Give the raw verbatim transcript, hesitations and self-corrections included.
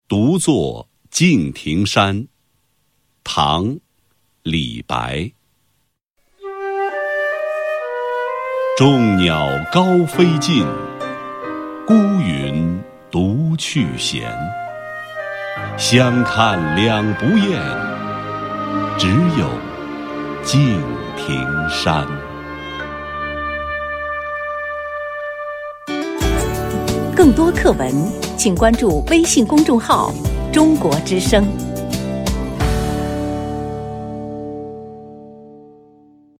独坐敬亭山，唐·李白。众鸟高飞尽，孤云独去闲。相看两不厌，只有敬亭山。 更多课文，请关注微信公众号“中国之声”。